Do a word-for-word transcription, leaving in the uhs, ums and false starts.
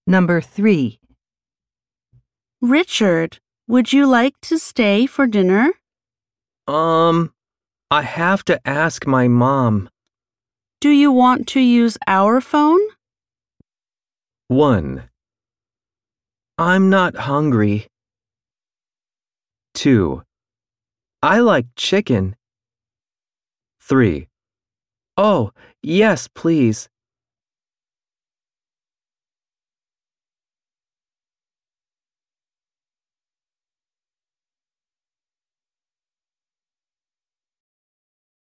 Number three. Richard, would you like to stay for dinner? Um, I have to ask my mom. Do you want to use our phone? one. I'm not hungry. two. I like chicken. three. Oh, yes, please.